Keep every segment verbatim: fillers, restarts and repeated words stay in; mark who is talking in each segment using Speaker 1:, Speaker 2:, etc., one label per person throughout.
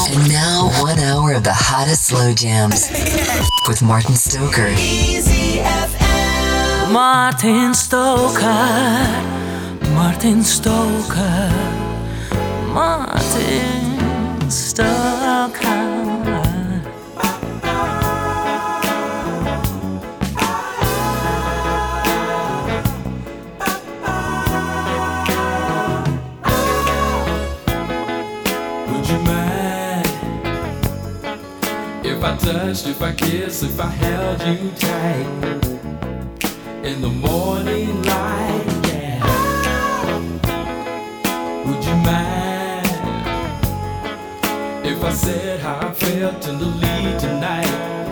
Speaker 1: And now, one hour of the hottest slow jams with Martin Stoker.
Speaker 2: Easy F M.
Speaker 3: Martin Stoker, Martin Stoker, Martin Stoker.
Speaker 4: If I touched, if I kissed, if I held you tight in the morning light, yeah. Would you mind if I said how I felt tenderly tonight?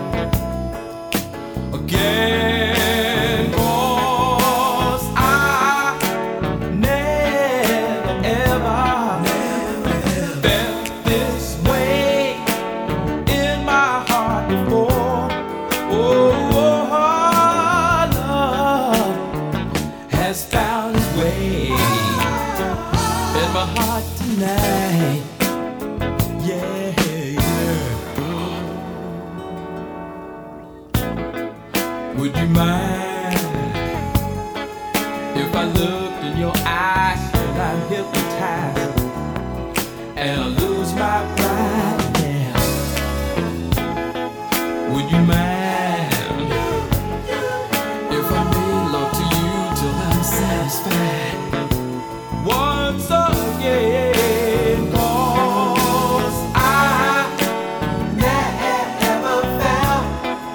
Speaker 4: Again, 'cause I never ever, never felt this way in my heart before. Oh, oh, love has found its way in my heart tonight. Yeah, yeah. Would you mind if I looked in your eyes and I'm hypnotized and I lose my pride? Yeah. Would you mind if I made love to you till I'm satisfied once again? 'Cause I never felt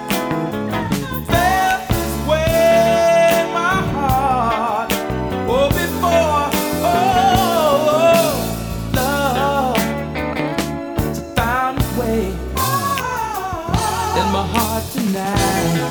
Speaker 4: felt this way in my heart, oh, before. Oh, love found its way in my heart tonight.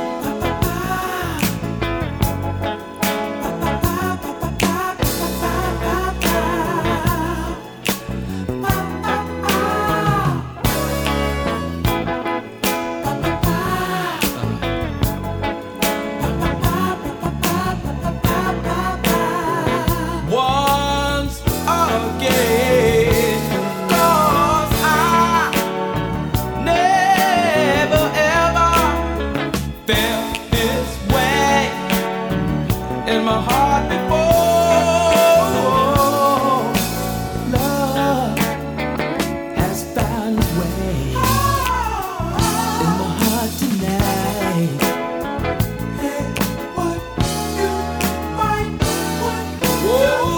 Speaker 4: Once again, 'cause I never ever felt this way in my heart before. Love has found its way in my heart tonight. Hey, what you might want. Oh,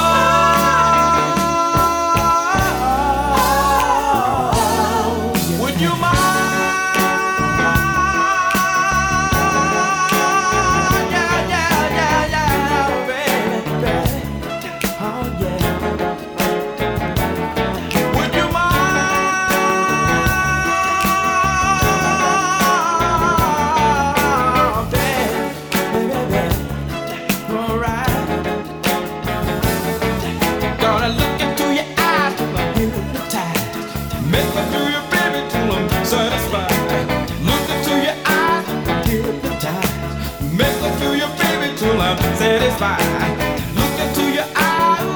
Speaker 4: love, would you mind? Yeah, yeah, yeah, yeah, baby, baby. Oh, yeah. Would you mind, baby, baby, baby? All right. Gonna look into your eyes till I'm hypnotized. Make me do your baby till I'm satisfied. Look into your eyes, hypnotized. Make me do your baby till I'm satisfied. Look into your eyes.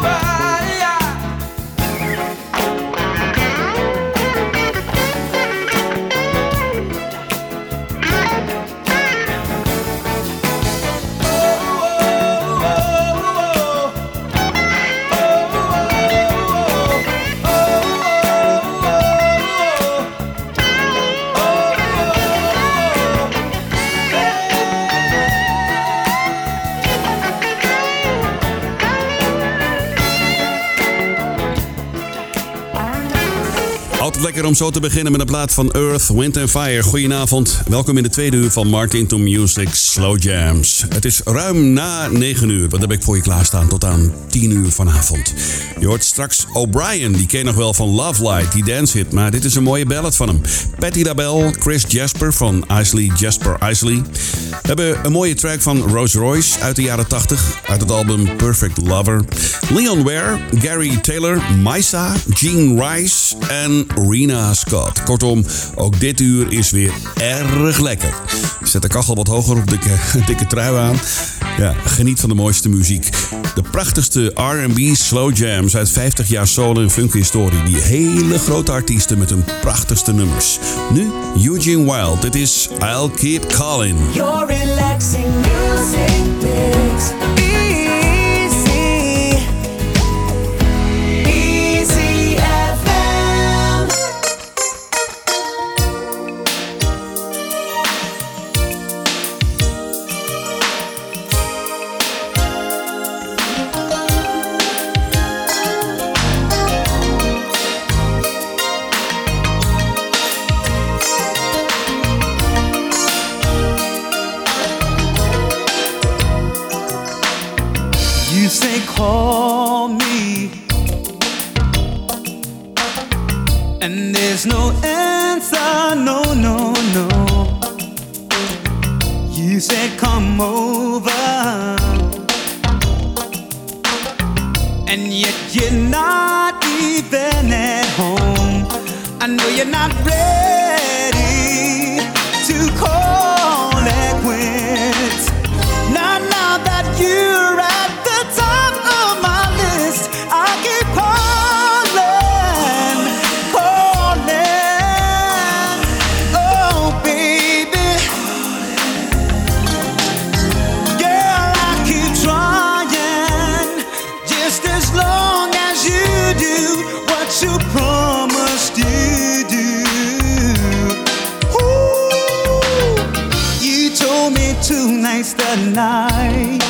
Speaker 5: Altijd lekker om zo te beginnen met een plaat van Earth, Wind and Fire. Goedenavond, welkom in de tweede uur van Martin to Music Slow Jams. Het is ruim na negen uur, wat heb ik voor je klaarstaan tot aan tien uur vanavond. Je hoort straks O'Brien, die ken je nog wel van Love Light, die dance hit, maar dit is een mooie ballad van hem. Patti LaBelle, Chris Jasper van Isley Jasper Isley. We hebben een mooie track van Rose Royce uit de jaren tachtig, uit het album Perfect Lover. Leon Ware, Gary Taylor, Maisa, Gene Rice en Rena Scott. Kortom, ook dit uur is weer erg lekker. Ik zet de kachel wat hoger op, dikke, dikke trui aan. Ja, geniet van de mooiste muziek. De prachtigste R en B slow jams uit vijftig jaar soul en funk historie. Die hele grote artiesten met hun prachtigste nummers. Nu Eugene Wild. Dit is I'll Keep Calling.
Speaker 2: Your relaxing music mix. Easy. Easy F M.
Speaker 3: You say call me, and there's no answer, no, no, no. You said come over, and yet you're not even at home. I know you're not ready to call it quits. Not now that you're at the top of my list. I keep calling, calling. Oh, baby. Girl, I keep trying. Just as long as you do what you promised you do. Ooh, you told me tonight's the night.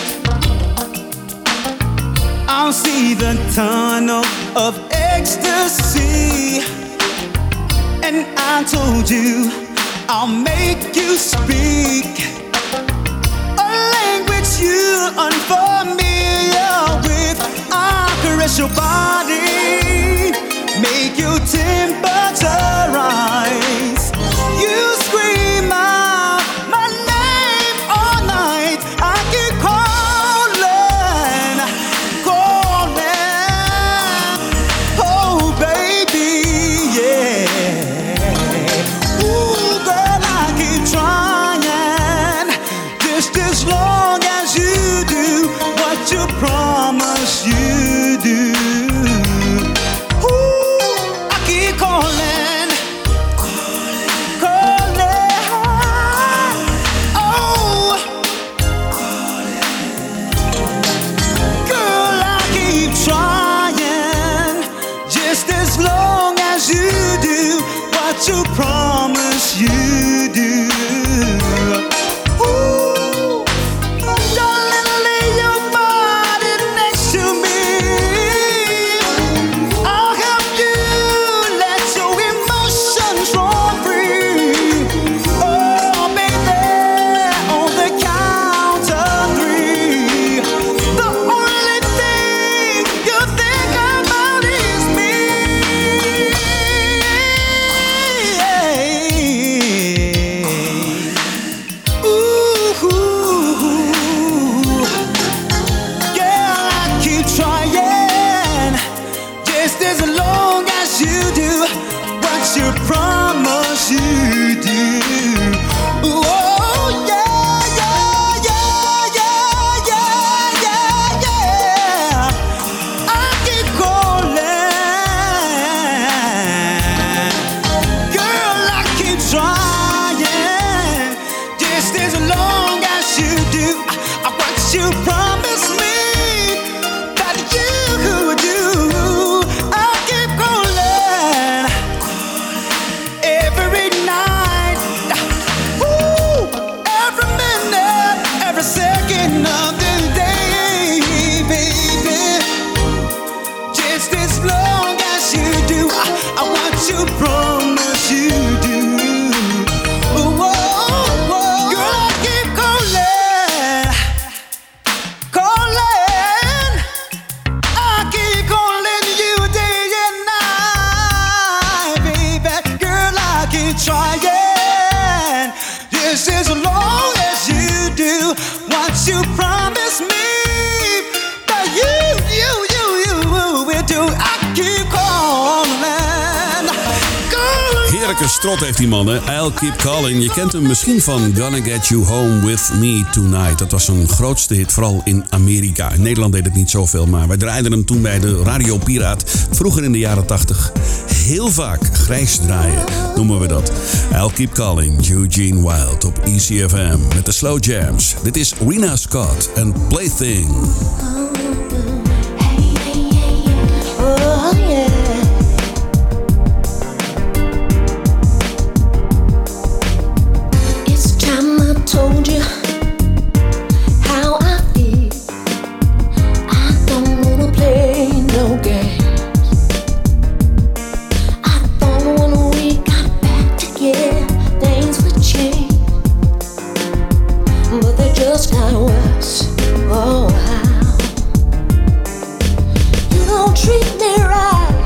Speaker 3: I'll see the tunnel of ecstasy. And I told you I'll make you speak a language you're unfamiliar with. I'll caress your body, make your temperature rise. You scream out my name all night. I keep calling, calling. Oh, baby, yeah. Ooh, girl, I keep trying. Just as long as you do what you promise you do. Ooh, I keep calling, calling. Oh, girl, I keep trying. Just as long as you do what you promise you do. Ooh, darling, lay your body next to me. I'll help you let your emotions roll free. Oh, baby, on the count of three. The only thing you think about is me. Ooh, yeah, I keep trying. Just as long as you do what you promise you do. Ooh, oh, yeah, yeah, yeah, yeah, yeah, yeah, yeah. I keep calling. Girl, I keep trying. Just as long as you do uh, what you promised me that you would do. I keep calling every night. Ooh, every minute, every second of the day, baby. Just as long as you do uh, uh, what you promise you do. Ooh, whoa, whoa. Girl, I keep calling, calling. I keep calling you day and night, baby. Girl, I keep trying. Just as long as you do what you promise me that you, you, you, you will do. I keep calling. Girl,
Speaker 5: Heerlijke strot heeft die man, hè? I'll Keep Calling. Je kent hem misschien van Gonna Get You Home With Me Tonight. Dat was een grootste hit, vooral in Amerika. In Nederland deed het niet zoveel, maar wij draaiden hem toen bij de Radio Piraat. Vroeger in de jaren tachtig. Heel vaak grijs draaien, noemen we dat. I'll Keep Calling, Eugene Wild op E C F M. Met de Slow Jams. Dit is Rena Scott en Plaything.
Speaker 6: Oh, yeah. It's time I told you how I feel. I don't wanna play no games. I thought when we got back together, things would change, but they just got worse. Oh, how you don't treat me right.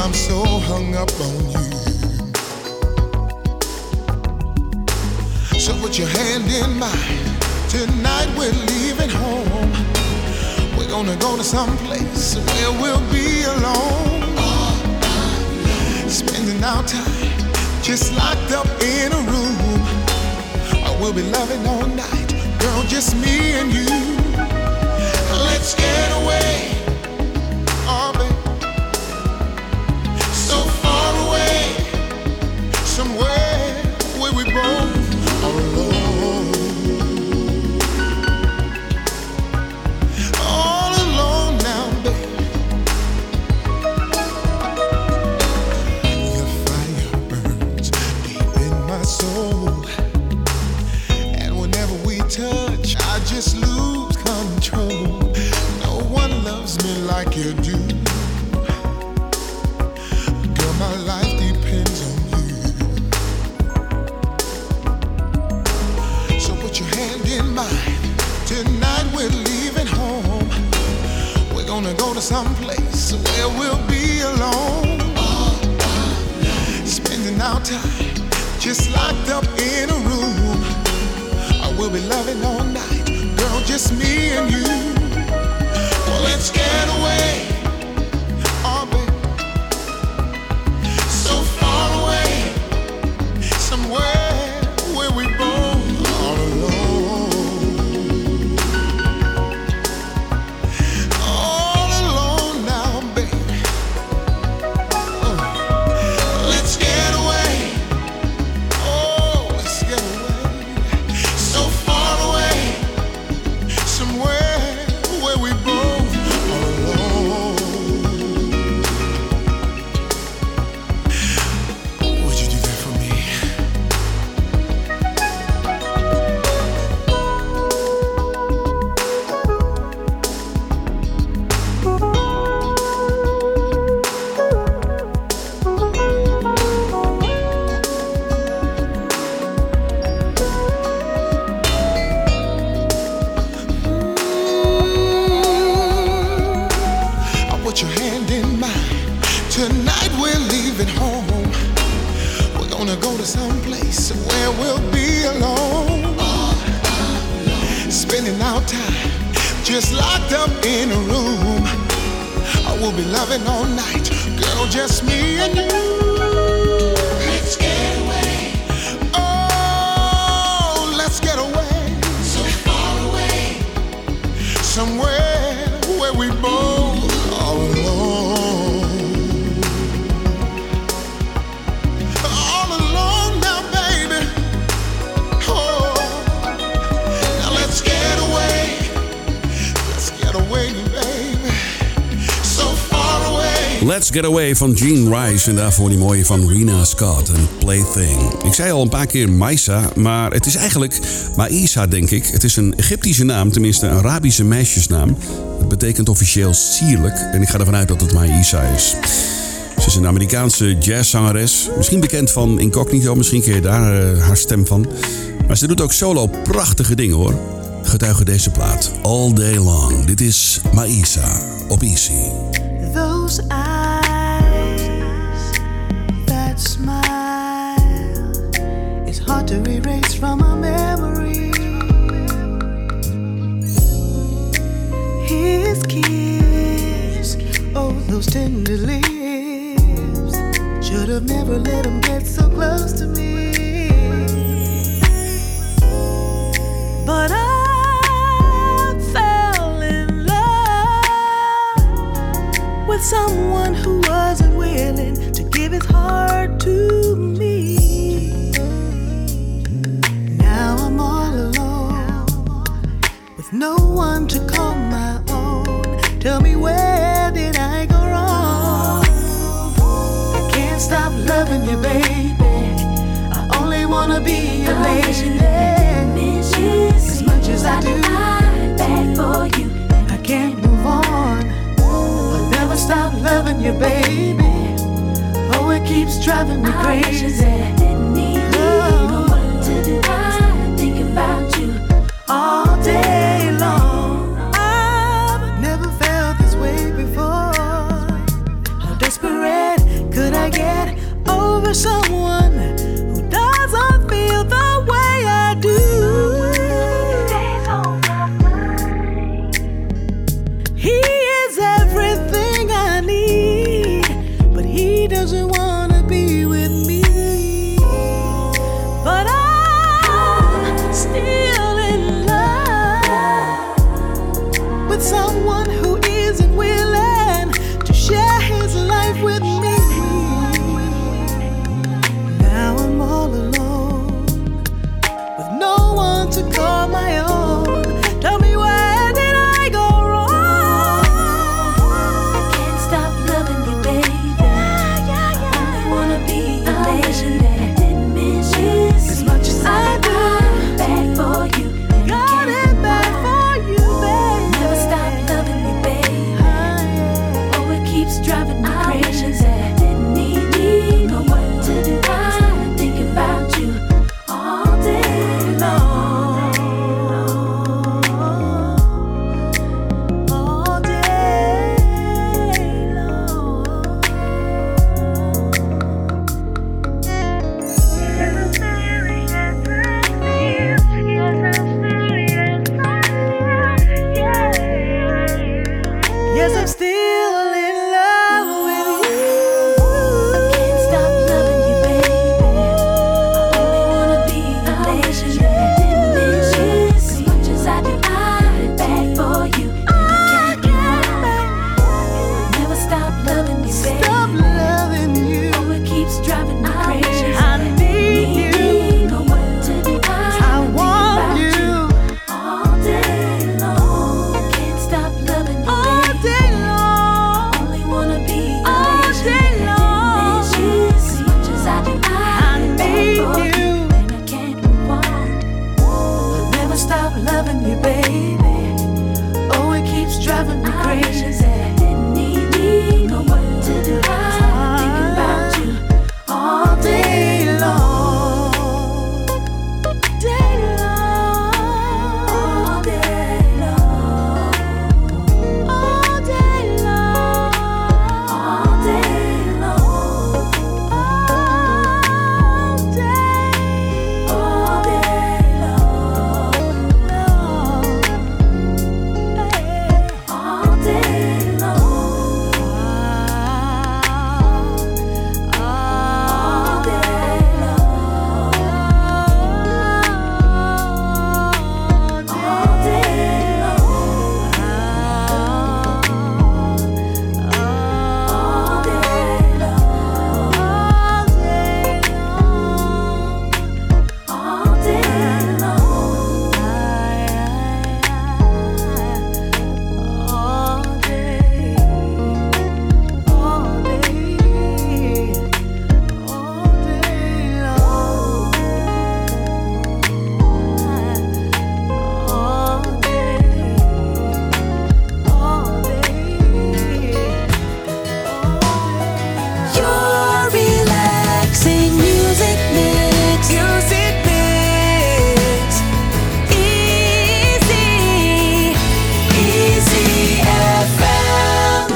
Speaker 3: I'm so hung up on you. So put your hand in mine. Tonight we're leaving home. We're gonna go to some place where we'll be alone. Spending our time just locked up in a room. We'll be loving all night, girl, just me and you. Let's get away, oh baby, so far away, somewhere where we both are alone. All alone now, baby. The fire burns deep in my soul. Touch, I just lose control. No one loves me like you do. Girl, my life depends on you. So put your hand in mine. Tonight we're leaving home. We're gonna go to some place where we'll be alone. Spending our time just locked up in a room. We'll be loving all night, girl, just me and you. Well, let's get away, oh baby, so far away, somewhere where we both are alone. All alone now, baby. Oh. Let's get away, oh, let's get away. Just locked up in a room. I will be loving all night, girl, just me and you. Let's get away. Oh, let's get away. So far away. Somewhere where we both are alone. All alone now, baby. Oh, now let's get away. Away, baby. So far away.
Speaker 5: Let's Get Away van Gene Rice en daarvoor die mooie van Rena Scott en Plaything. Ik zei al een paar keer Maisa, maar het is eigenlijk Maïsa, denk ik. Het is een Egyptische naam, tenminste een Arabische meisjesnaam. Het betekent officieel sierlijk en ik ga ervan uit dat het Maïsa is. Ze is een Amerikaanse jazzzangeres, misschien bekend van Incognito, misschien ken je daar uh, haar stem van. Maar ze doet ook solo prachtige dingen, hoor. Getuige deze plaat, All Day Long. Dit is Maïsa op Easy.
Speaker 6: Those eyes, that smile, it's hard to erase from my memory. His kiss, oh those tender lips, should have never let him get so close to me. But I with someone who wasn't willing to give his heart to me. Now I'm all alone, with no one to call my own. Tell me, where did I go wrong? I can't stop loving you, baby. I only wanna be your lady. As much as I do, back for you, I can't move on. Never stop loving you, baby. Oh, it keeps driving me crazy. I didn't need no one to do. I think about you all day long. I've never felt this way before. How desperate someone who doesn't feel the way I do. Stays on my mind. He is everything I need, but he doesn't wanna be with me. But I'm still in love with someone who isn't willing to share his life with me. Now I'm all alone with no one to call my own. Tell me, where did I go wrong?
Speaker 7: I can't stop loving you, baby. I wanna be a nation that I didn't miss you as much as I do. Back for you, and I
Speaker 6: Got
Speaker 7: can't
Speaker 6: it
Speaker 7: move
Speaker 6: back
Speaker 7: on.
Speaker 6: for you, baby.
Speaker 7: Never stop loving you, baby. Oh, it keeps driving me crazy that I didn't need you. Know what to do? I think about you all day long.
Speaker 6: All day long. Yes, I'm still in love with you.
Speaker 7: I can't stop loving you, baby. I only wanna be a nation that I didn't miss you as much as I do. I'm back for you, and I can't move on. Never stop loving you, baby.
Speaker 6: Stop loving you.
Speaker 7: Oh, it keeps driving me crazy.
Speaker 6: I need you.
Speaker 7: Know what to do?
Speaker 6: I
Speaker 7: think
Speaker 6: want
Speaker 7: about
Speaker 6: you
Speaker 7: all day long. Can't stop loving you,
Speaker 6: all
Speaker 7: baby.
Speaker 6: day long.
Speaker 7: Only wanna be a
Speaker 6: All
Speaker 7: nation
Speaker 6: day
Speaker 7: that I didn't miss you as much as I do.
Speaker 6: I
Speaker 7: I'm back
Speaker 6: need
Speaker 7: for
Speaker 6: you.
Speaker 7: and I can't move on. I'll never stop loving you, baby. Oh, it keeps driving me crazy that I didn't need you. Know what to do? I think about you all day long.
Speaker 6: Day long.
Speaker 7: All day long.
Speaker 6: All day long.
Speaker 7: All day long.
Speaker 6: All day.
Speaker 7: All day long. All day long. All day long. All day long. All day long. All day long.
Speaker 2: Your relaxing music mix. Music mix. Easy. Easy F M.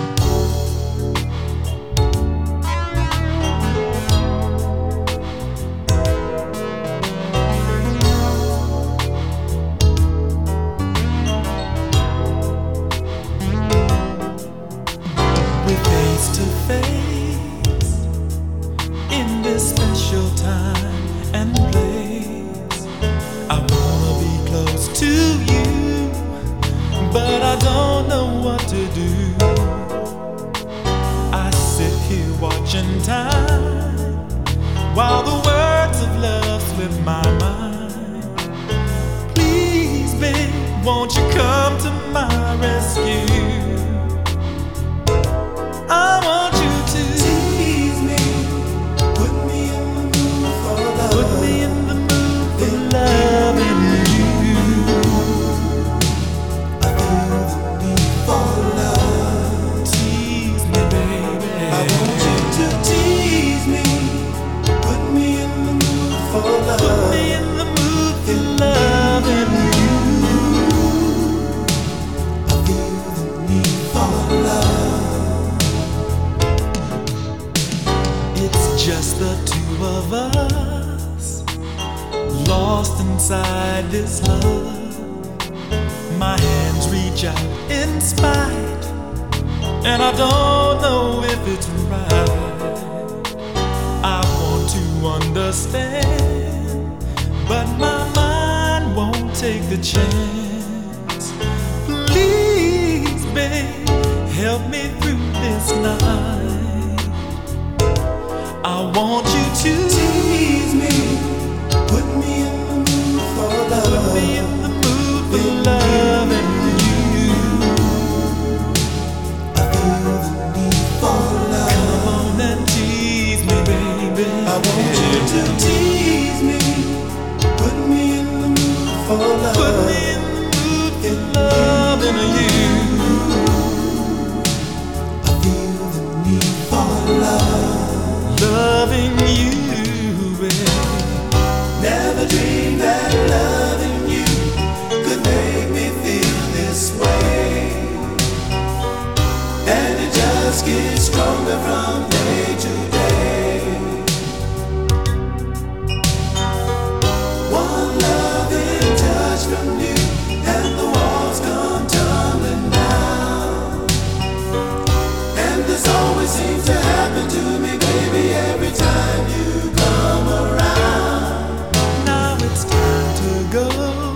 Speaker 3: We're face to face in this special time and place. I wanna be close to you, but I don't know what to do. I sit here watching time while the words of love slip my mind. Please, babe, won't you come to my rescue? I want you to tease me, put me in the mood for
Speaker 8: two of us lost inside this love. My hands reach out in spite, and I don't know if it's right. I want to understand, but my mind won't take the chance. Please, babe, help me through this night. I want you to tease me, put me in the mood for love, put me in the mood for loving you. I feel the need for love. Come on and tease me, baby. I want you to tease me, put me in the mood for love, put me in the mood for loving you. I feel the need for love, loving you, baby. Never dreamed that loving you could make me feel this way, and it just gets stronger from day to day. One loving touch from you, and the walls come tumbling down. And this always seems to happen to me, baby, every time you come around. Now it's time to go,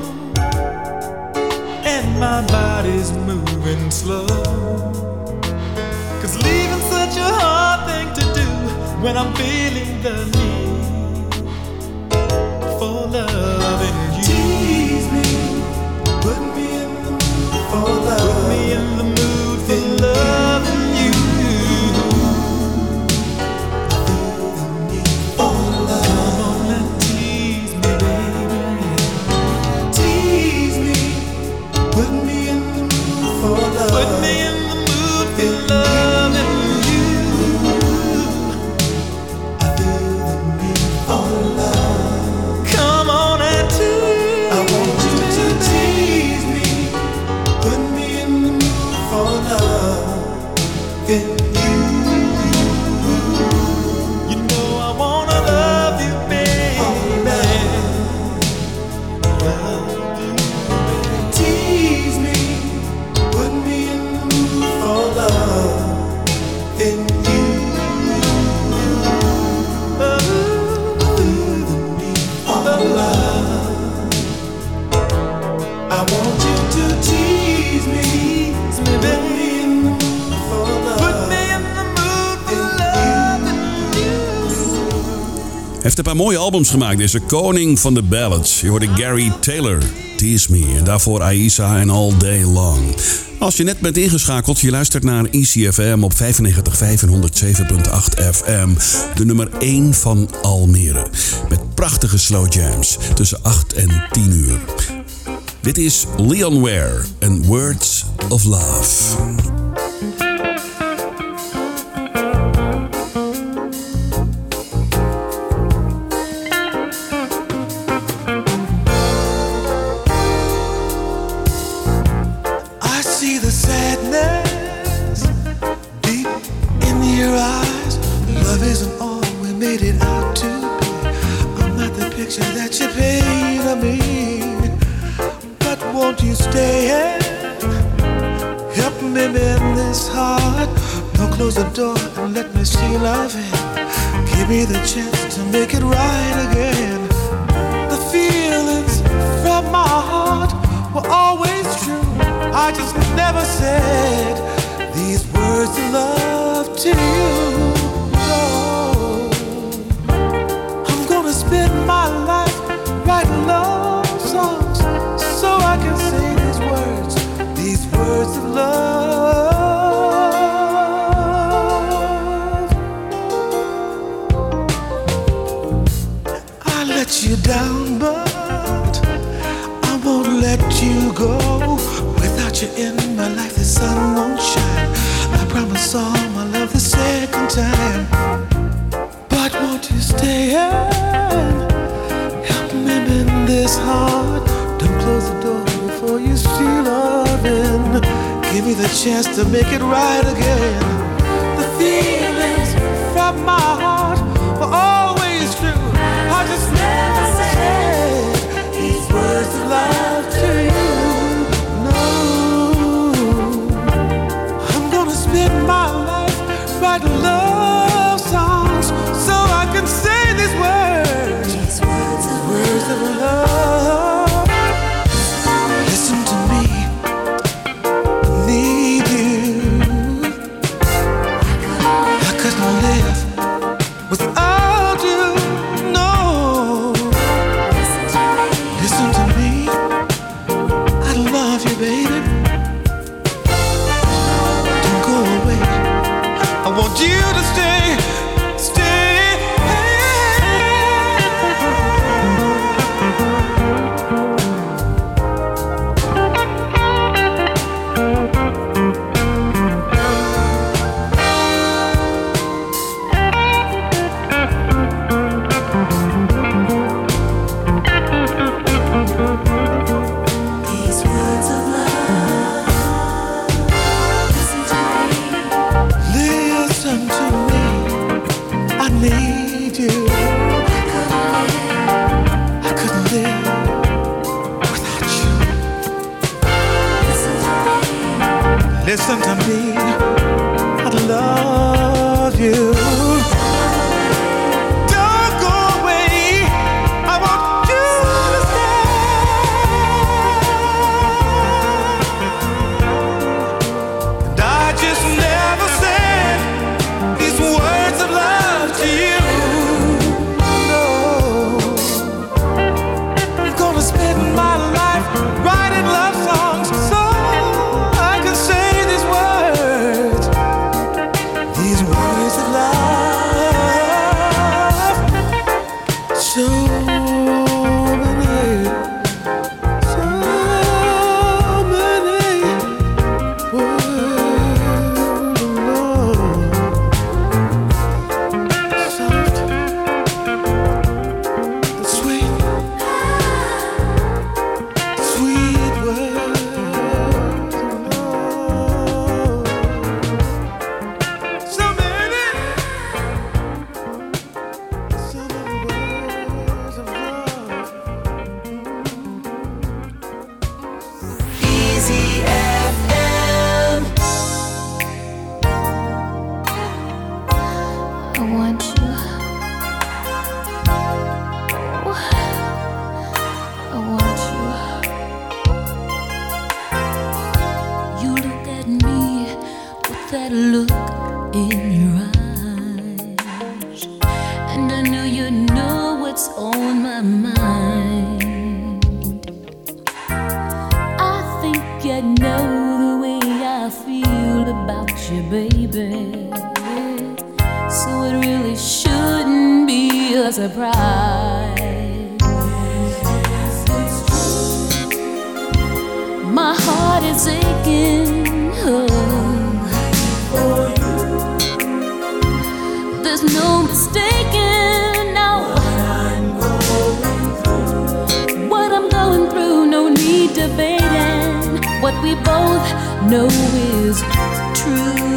Speaker 8: and my body's moving slow. Cause leaving's such a hard thing to do when I'm feeling the need for loving you. Tease me, put me in the mood for love, put me in the mood for loving you. I feel the need for love. Come on and tease me, baby. Tease me, put me in the mood for love, put me in the mood for loving you. I feel the need for love. Come on and tease. I want you to tease me, put me in the mood for love in you. You know I wanna love you, baby. Love you, baby. Tease me, put me in the mood for love in you. Oh, I feel the need for love. I want you to tease me, put me in the mood for love, put me in the mood for loving you.
Speaker 5: Hij heeft een paar mooie albums gemaakt. Deze koning van de ballads. Je hoorde Gary Taylor, Tease Me. En daarvoor Aisa en All Day Long. Als je net bent ingeschakeld, je luistert naar I C F M op vijfennegentig komma vijf en honderdzeven komma acht F M. De nummer één van Almere. Met prachtige slow jams tussen acht en tien uur. Dit is Leon Ware en Words of Love.
Speaker 8: I see the sadness deep in your eyes. Love isn't all we made it out to be. I'm not the picture that you paint of me. But won't you stay and help me mend this heart? Don't close the door and let me see love in. Give me the chance to make it right again. The feelings from my heart were always true. I just never said these words of love to you. No, I'm gonna spend my life writing love songs so I can say these words, these words of love. I let you down, but I won't let you go. Without you in my life, the sun won't shine. I promise all my love the second time. But won't you stay and help me mend this heart? Don't close the door before you see love in. Give me the chance to make it right again. The feelings from my heart were always told you no. Listen to me. I love you, baby. Don't go away. I want you to stay, stay. Listen to me. I need you. I couldn't live without you. Listen to me. I love you. Don't go away. I want you to stay. And I just never said these words of love to you. No, I'm gonna spend my life writing love songs so I can say these words, these words of love. So many, so many words of love. Soft, sweet, sweet words of love. So many, so many words of love.
Speaker 2: Easy F M.
Speaker 7: I want you. I want you. You look at me with that look in your eyes, and I know you know what's on my mind. I think you know the way I feel about you, baby. So it really shouldn't be a surprise. My heart is aching oh, for you. There's no mistaking now what I'm going through. No need debating. What we both know is true.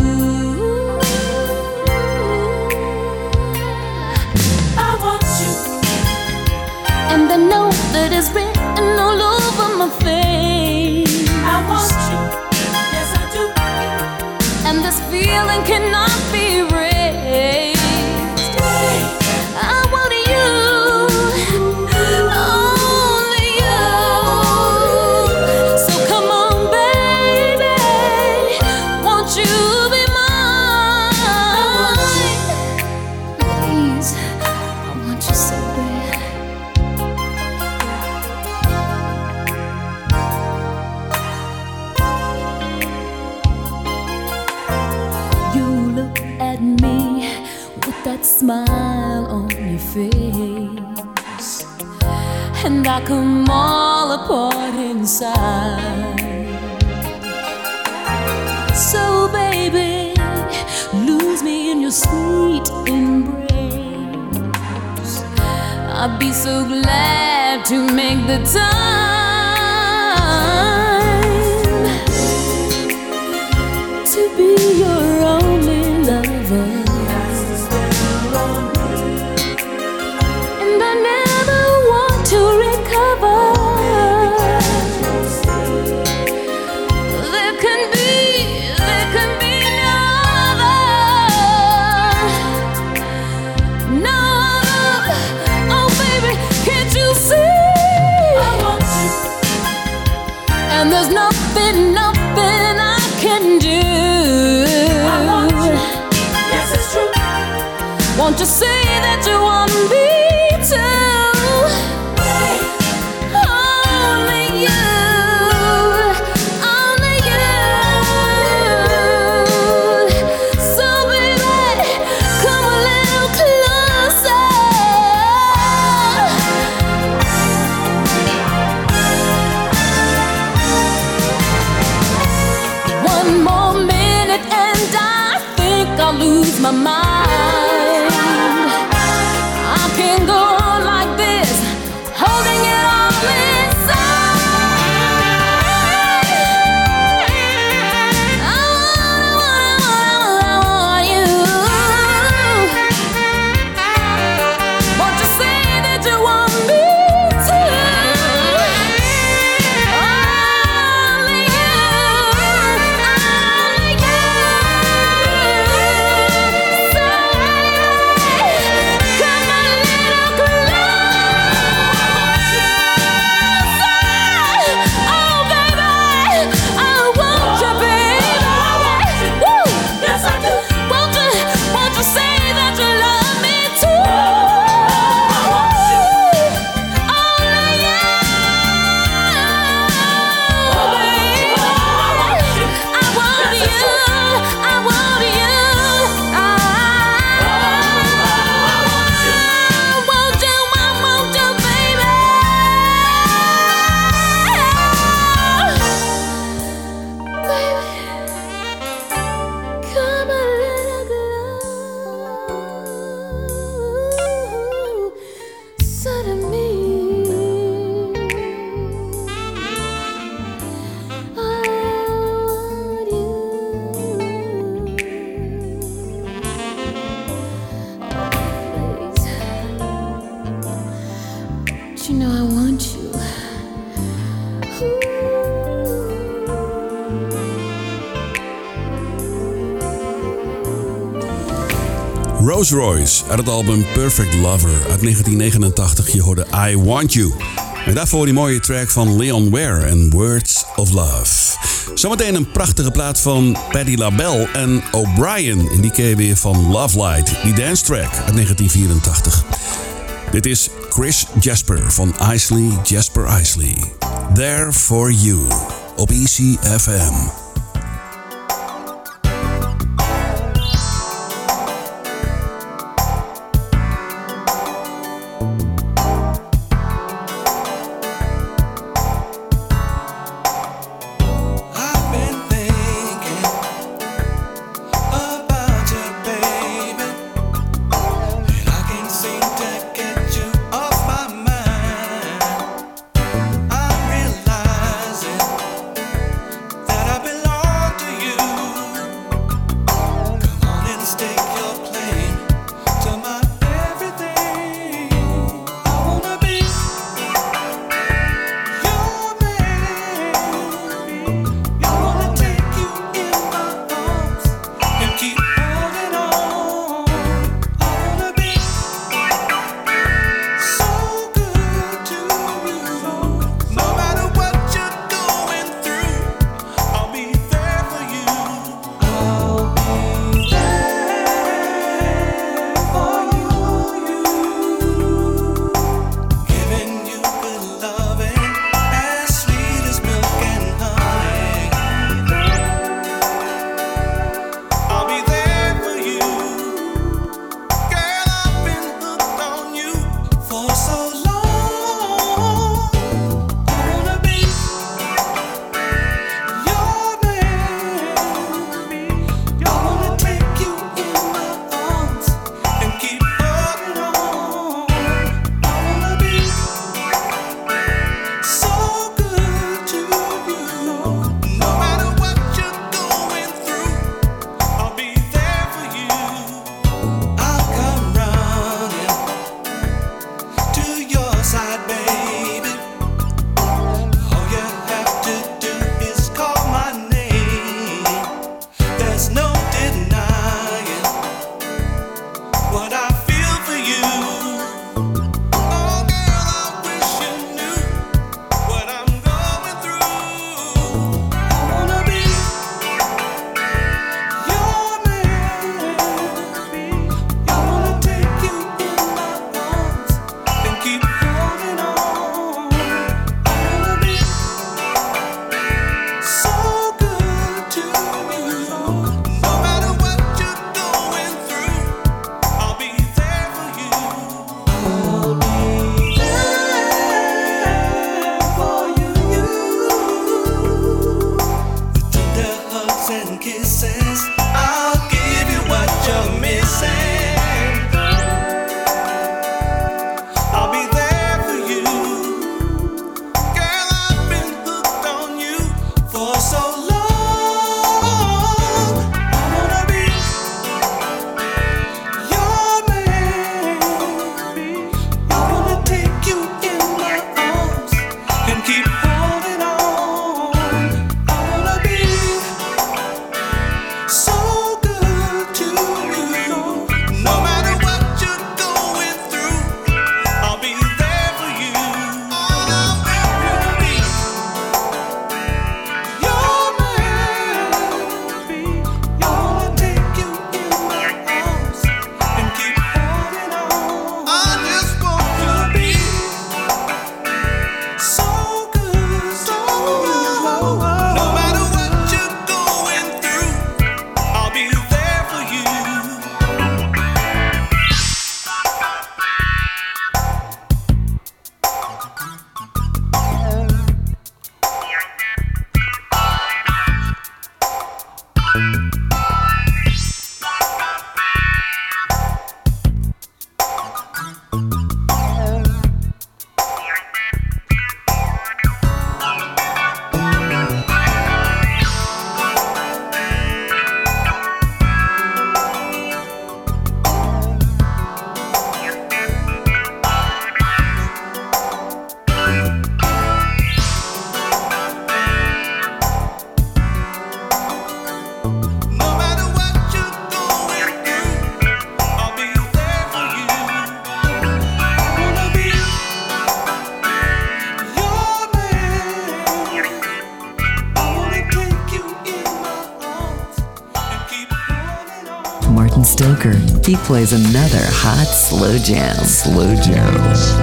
Speaker 2: I want you.
Speaker 7: And I know that it's written all over my face.
Speaker 2: I want you. Yes, I do.
Speaker 7: And this feeling cannot be erased. I want you, only you. So come on, baby, won't you be mine? Please, I want you so bad. You look at me with that smile on your face, and I come all apart inside. So baby, lose me in your sweet embrace. I'd be so glad to make the time to be your only lover. And I never want to recover. There can be, there can be no other, no other. Oh baby, can't you see?
Speaker 2: I want you.
Speaker 7: And there's nothing, nothing I can do.
Speaker 2: I want you. Yes, it's true.
Speaker 7: Won't you say that that you want me to. Only you, only you. So baby, come a little closer. One more minute and I think I'll lose my mind. I can't go on like this, holding it all inside. I want, I want you. Won't you say that you want me to? Only you, only you. So baby, come a little closer. Oh baby, I want you, baby. Woo.
Speaker 2: Yes, I do.
Speaker 7: Won't you, won't you say that you love me too? Only you, baby. I want you, I want you. I want you, I want you, baby. Baby, come a little closer to me. I want you. Please. But you know I want you.
Speaker 5: Rose Royce uit het album Perfect Lover uit negentien negenentachtig. Je hoorde I Want You. En daarvoor die mooie track van Leon Ware en Words of Love. Zometeen een prachtige plaat van Patti LaBelle en O'Brien. En die ken je weer van Love Light, die dance track uit negentien vierentachtig. Dit is Chris Jasper van Isley Jasper Isley. There For You op E C F M.
Speaker 8: I've been thinking about you, baby, and I can't seem to get you off my mind. I'm realizing that I've been
Speaker 1: Booker. He plays another hot slow jam. Slow jams.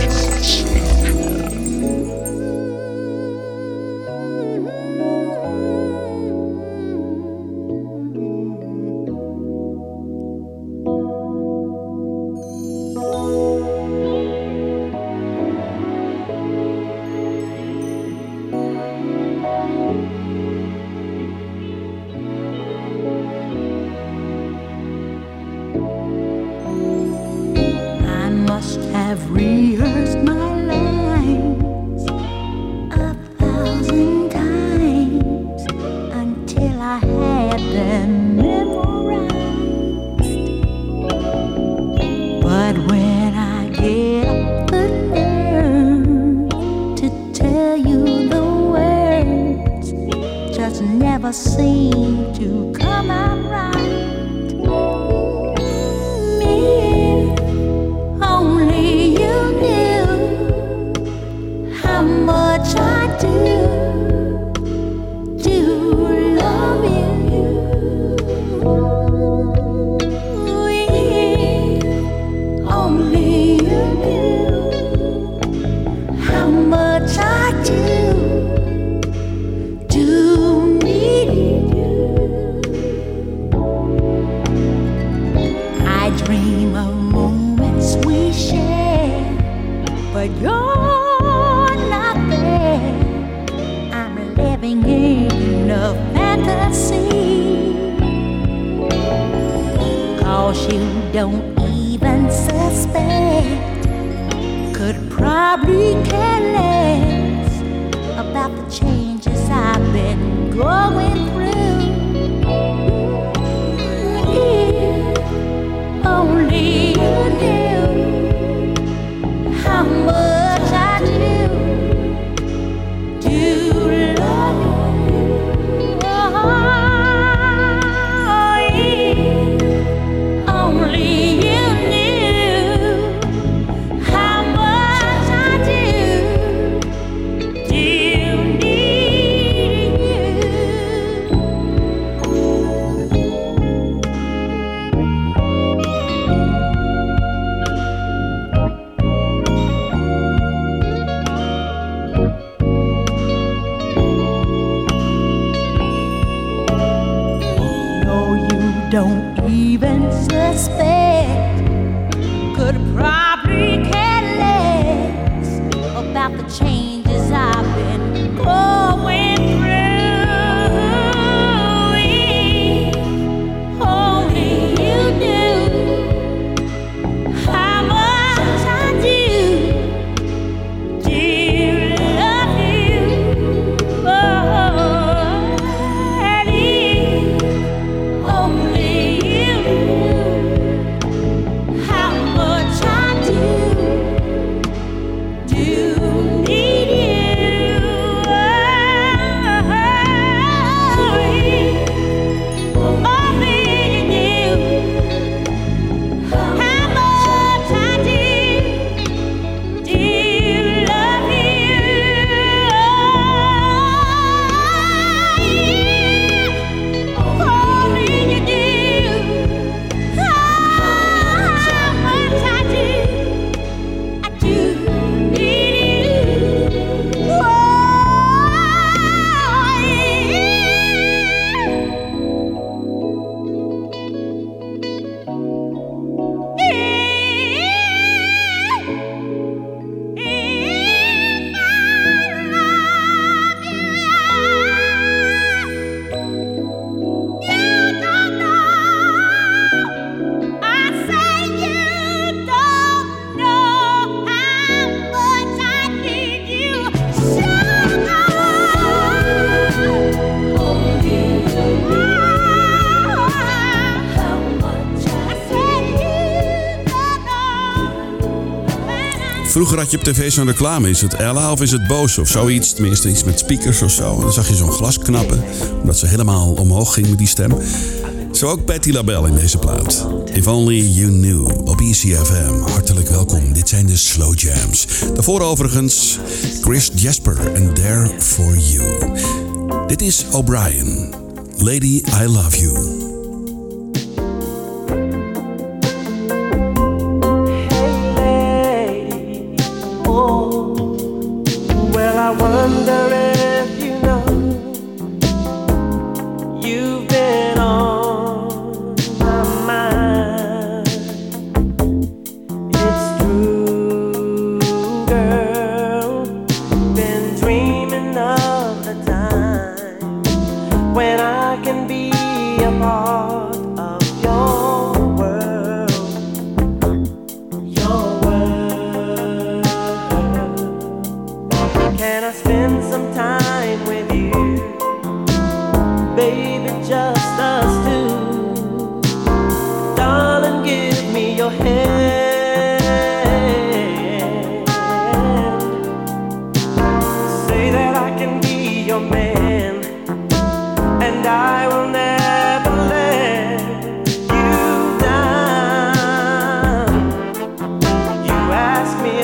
Speaker 5: Vroeger had je op tv zo'n reclame. Is het Ella of is het Bose of zoiets? Tenminste iets met speakers of zo. En dan zag je zo'n glas knappen. Omdat ze helemaal omhoog ging met die stem. Zo ook Patti LaBelle in deze plaat. If Only You Knew op E C F M. Hartelijk welkom. Dit zijn de Slow Jams. Daarvoor overigens Chris Jasper en There For You. Dit is O'Brien. Lady, I Love You.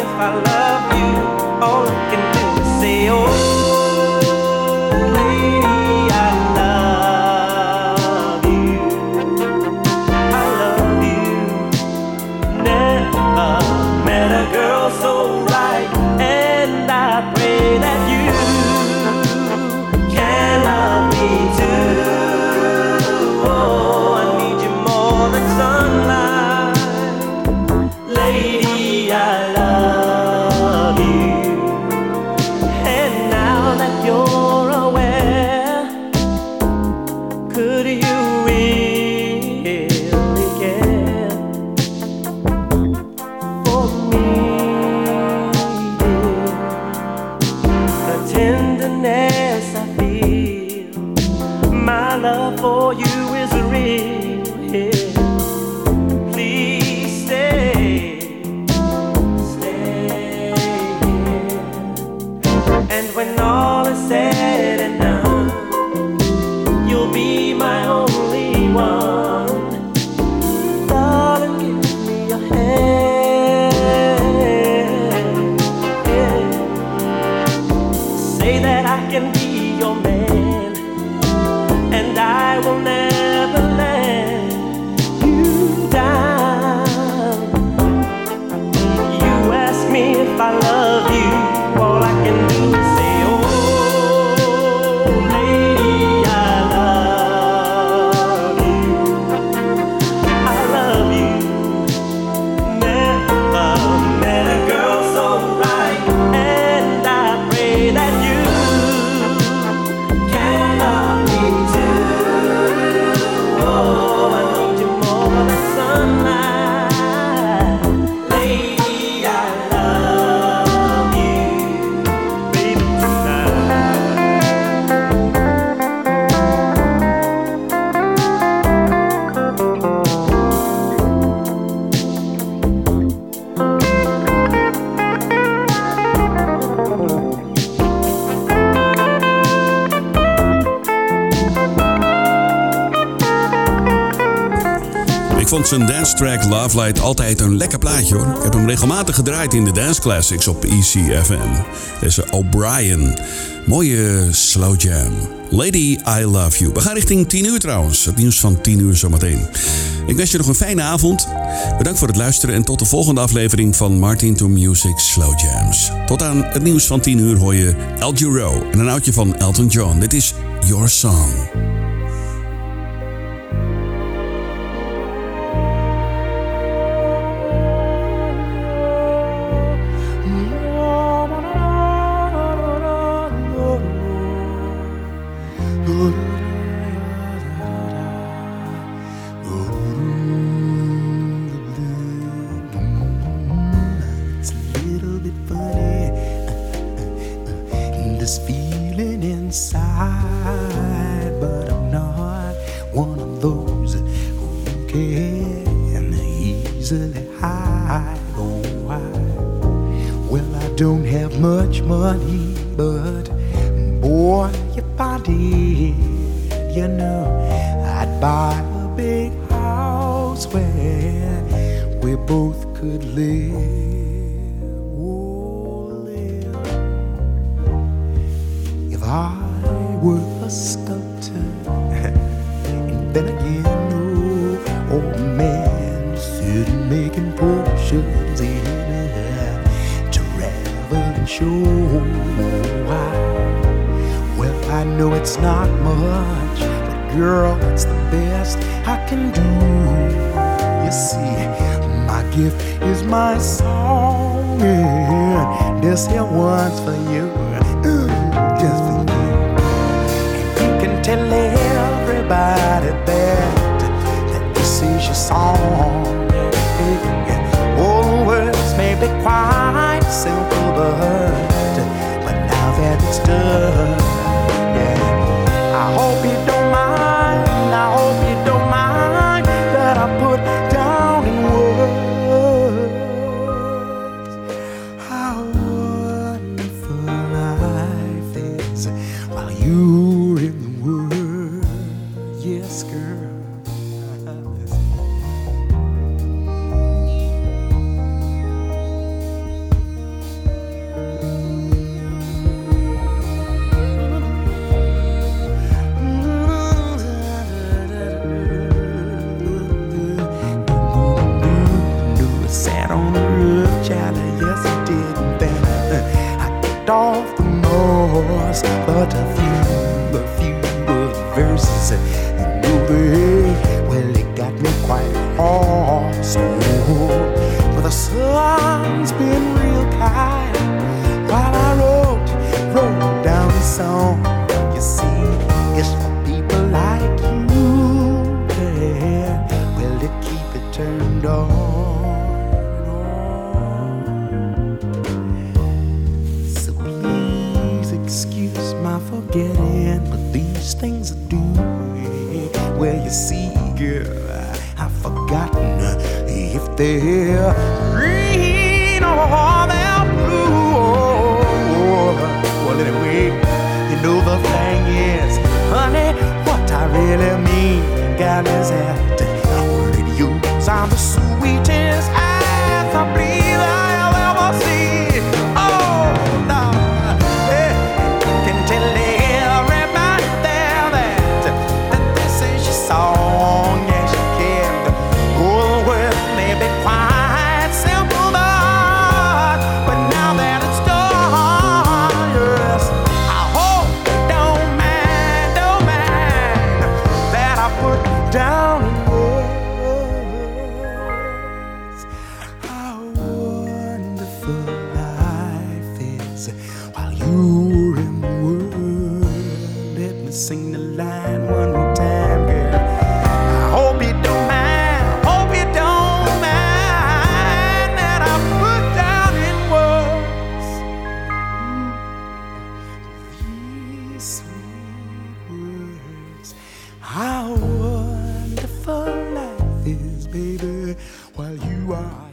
Speaker 9: if I love you, all I can do is say, oh, lady, I love you. I love you. Never met a girl so right, and I pray that you can love me too. Oh, I need you more than sunlight. Lady, I love you. And now that you're aware, could you really care for me, dear? The tenderness I feel, my love for you is real here. Please stay, stay here. And when all is said and done, you'll be my only one. Darling, give me your hand. Yeah. Say that I can be your man, and I will never let you down. You ask me if I love you, all I can do is say, oh, lady, I love you. I love you. Never met a girl so right, and I pray that you can love me too. Oh, I need you more than sunlight. Lady, I love you, baby, tonight.
Speaker 5: Ik vond zijn dance track Love Light altijd een lekker plaatje hoor. Ik heb hem regelmatig gedraaid in de Dance Classics op E C F M. Deze O'Brien. Mooie slow jam. Lady, I love you. We gaan richting tien uur trouwens. Het nieuws van tien uur zometeen. Ik wens je nog een fijne avond. Bedankt voor het luisteren en tot de volgende aflevering van Martin to Music Slow Jams. Tot aan het nieuws van tien uur hoor je El Giro en een oudje van Elton John. Dit is Your Song.
Speaker 6: It's a little bit funny, this feeling inside, but I'm not one of those who can easily hide. Oh, why? Well, I don't have much money, but boy, if I did, you know, I'd buy a big house where we both could live. Oh, live. If I were a sculptor, and then again, no old man sitting making potions in it, travel and show why. Well, I know it's not much, but girl, it's the best I can do. You see, my gift is my song, and this here one's for you, ooh, just for you. And you can tell everybody that that this is your song. All the words may be quite simple, but but now that it's done, yeah, I hope you don't mind. I hope you don't mind that I put down in words how wonderful life is while you're in the world. Yes, girl.
Speaker 8: left off the most, but a few, a few of the verses, you know they, well, it got me quite hoarse. Oh, but the sun's been real kind while I wrote, wrote down the song. You see, it's for people like you, yeah. Well, to keep it turned on. Excuse my forgetting, but these things I do. Well, you see, girl, I've forgotten if they're green or they're blue. Well, anyway, you know the thing is, honey, what I really mean, gal, is that radios are the sweetest ass I believe I've ever seen. Oh, no. Tell everybody there that, that this is your song, yes you can. Oh, the words may be quite simple, but, but now that it's done, yes, I hope you don't mind, don't mind that I put down in words how wonderful life is while you're in the world. Let me sing the line one more time, girl. I hope you don't mind, hope you don't mind that I put down in words these sweet words. How wonderful life is, baby, while you are